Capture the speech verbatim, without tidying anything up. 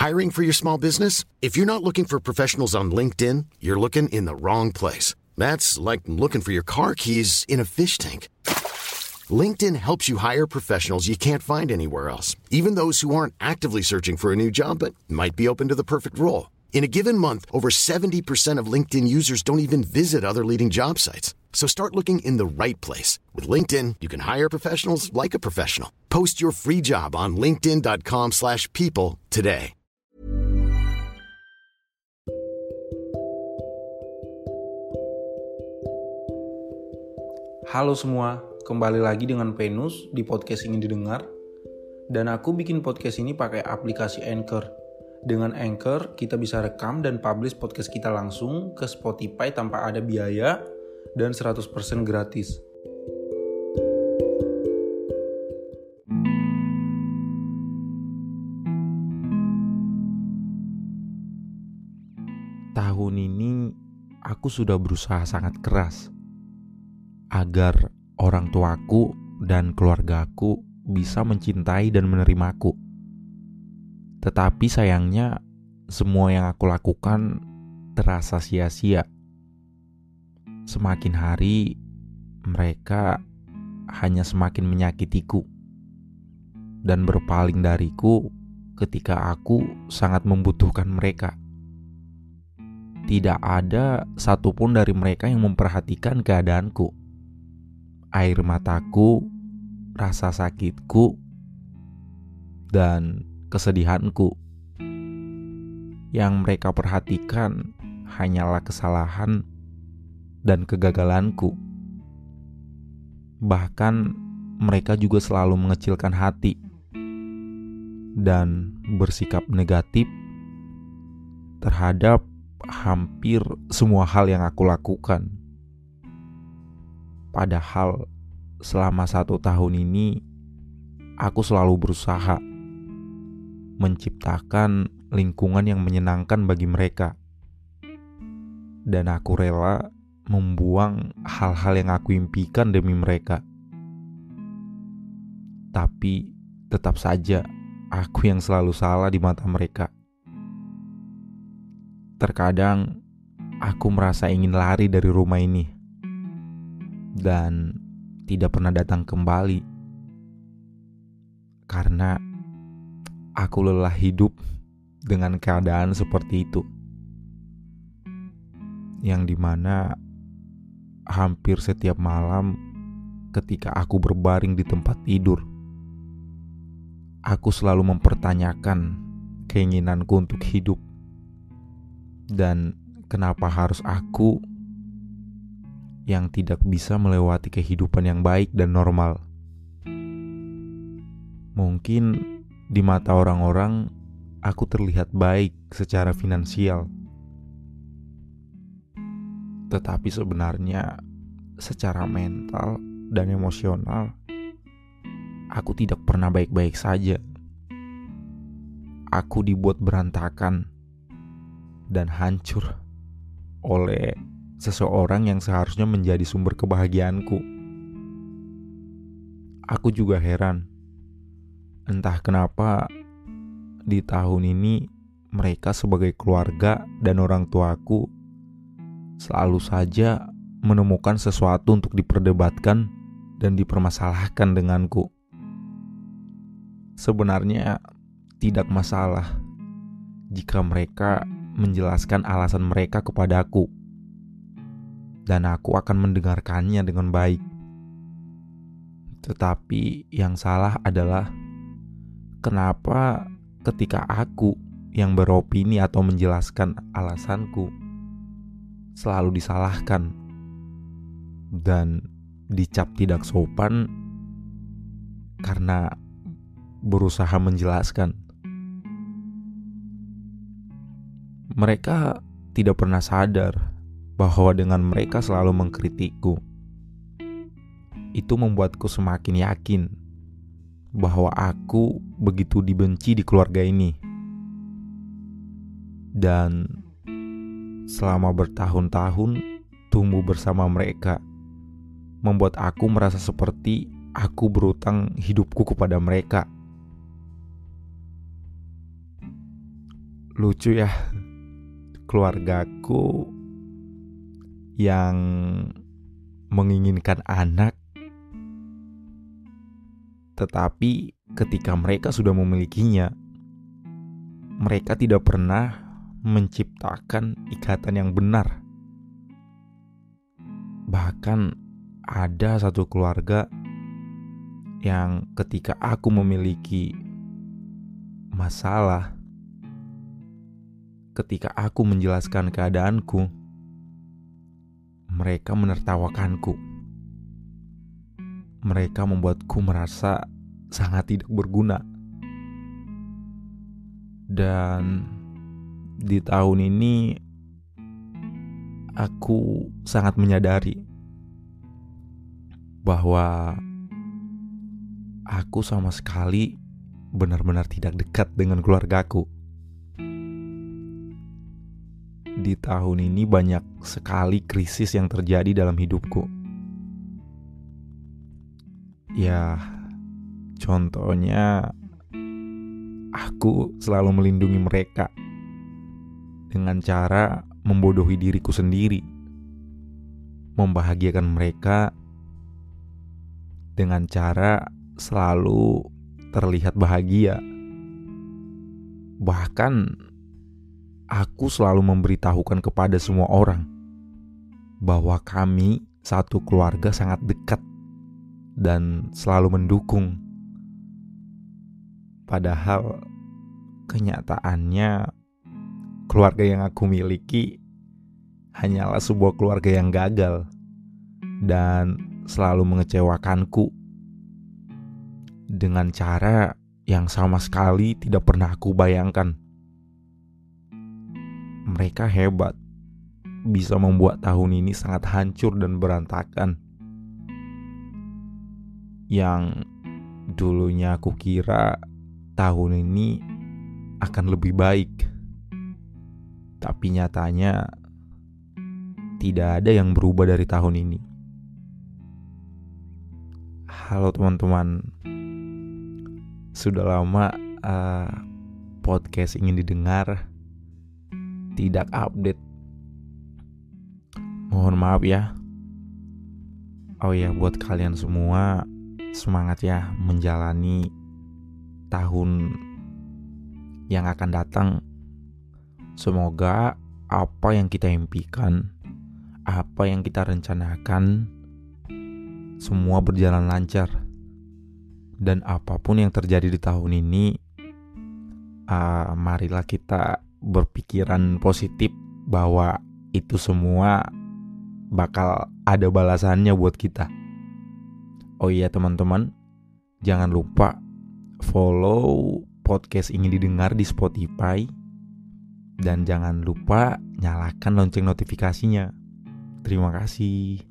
Hiring for your small business? If you're not looking for professionals on LinkedIn, you're looking in the wrong place. That's like looking for your car keys in a fish tank. LinkedIn helps you hire professionals you can't find anywhere else, even those who aren't actively searching for a new job but might be open to the perfect role. In a given month, over seventy percent of LinkedIn users don't even visit other leading job sites. So start looking in the right place. With LinkedIn, you can hire professionals like a professional. Post your free job on linkedin.com slash people today. Halo semua, kembali lagi dengan Venus di podcast Ingin Didengar. Dan aku bikin podcast ini pakai aplikasi Anchor. Dengan Anchor, kita bisa rekam dan publish podcast kita langsung ke Spotify tanpa ada biaya dan seratus persen gratis. Tahun ini, aku sudah berusaha sangat keras agar orang tuaku dan keluargaku bisa mencintai dan menerimaku. Tetapi sayangnya semua yang aku lakukan terasa sia-sia. Semakin hari mereka hanya semakin menyakitiku dan berpaling dariku ketika aku sangat membutuhkan mereka. Tidak ada satupun dari mereka yang memperhatikan keadaanku. Air mataku, rasa sakitku, dan kesedihanku. Yang mereka perhatikan hanyalah kesalahan dan kegagalanku. Bahkan mereka juga selalu mengecilkan hati dan bersikap negatif terhadap hampir semua hal yang aku lakukan. Padahal selama satu tahun ini aku selalu berusaha menciptakan lingkungan yang menyenangkan bagi mereka. Dan aku rela membuang hal-hal yang aku impikan demi mereka. Tapi tetap saja aku yang selalu salah di mata mereka. Terkadang aku merasa ingin lari dari rumah ini dan tidak pernah datang kembali karena aku lelah hidup dengan keadaan seperti itu, yang dimana hampir setiap malam ketika aku berbaring di tempat tidur, aku selalu mempertanyakan keinginanku untuk hidup. Dan kenapa harus aku yang tidak bisa melewati kehidupan yang baik dan normal? Mungkin di mata orang-orang aku terlihat baik secara finansial, tetapi sebenarnya secara mental dan emosional aku tidak pernah baik-baik saja. Aku dibuat berantakan dan hancur oleh seseorang yang seharusnya menjadi sumber kebahagiaanku. Aku juga heran, entah kenapa di tahun ini mereka sebagai keluarga dan orang tuaku selalu saja menemukan sesuatu untuk diperdebatkan dan dipermasalahkan denganku. Sebenarnya tidak masalah jika mereka menjelaskan alasan mereka kepadaku, dan aku akan mendengarkannya dengan baik. Tetapi yang salah adalah kenapa ketika aku yang beropini atau menjelaskan alasanku selalu disalahkan dan dicap tidak sopan karena berusaha menjelaskan. Mereka tidak pernah sadar bahwa dengan mereka selalu mengkritikku, itu membuatku semakin yakin bahwa aku begitu dibenci di keluarga ini. Dan selama bertahun-tahun tumbuh bersama mereka, membuat aku merasa seperti aku berutang hidupku kepada mereka. lucu ya, keluargaku yang menginginkan anak, tetapi ketika mereka sudah memilikinya, mereka tidak pernah menciptakan ikatan yang benar. Bahkan ada satu keluarga yang ketika aku memiliki masalah, ketika aku menjelaskan keadaanku, mereka menertawakanku. Mereka membuatku merasa sangat tidak berguna. Dan di tahun ini aku sangat menyadari bahwa aku sama sekali benar-benar tidak dekat dengan keluargaku. Di tahun ini banyak sekali krisis yang terjadi dalam hidupku. Ya, contohnya aku selalu melindungi mereka dengan cara membodohi diriku sendiri, membahagiakan mereka dengan cara selalu terlihat bahagia. Bahkan aku selalu memberitahukan kepada semua orang bahwa kami satu keluarga sangat dekat dan selalu mendukung. Padahal kenyataannya keluarga yang aku miliki hanyalah sebuah keluarga yang gagal dan selalu mengecewakanku dengan cara yang sama sekali tidak pernah aku bayangkan. Mereka hebat, bisa membuat tahun ini sangat hancur dan berantakan. Yang dulunya aku kira tahun ini akan lebih baik, tapi nyatanya tidak ada yang berubah dari tahun ini. Halo teman-teman, sudah lama uh, podcast ingin didengar tidak update. Mohon maaf ya. Oh ya, buat kalian semua, semangat ya menjalani tahun yang akan datang. Semoga apa yang kita impikan, apa yang kita rencanakan, semua berjalan lancar. Dan apapun yang terjadi di tahun ini, uh, marilah kita berpikiran positif bahwa itu semua bakal ada balasannya buat kita. Oh iya teman-teman, jangan lupa follow podcast ingin didengar di Spotify, dan jangan lupa nyalakan lonceng notifikasinya. Terima kasih.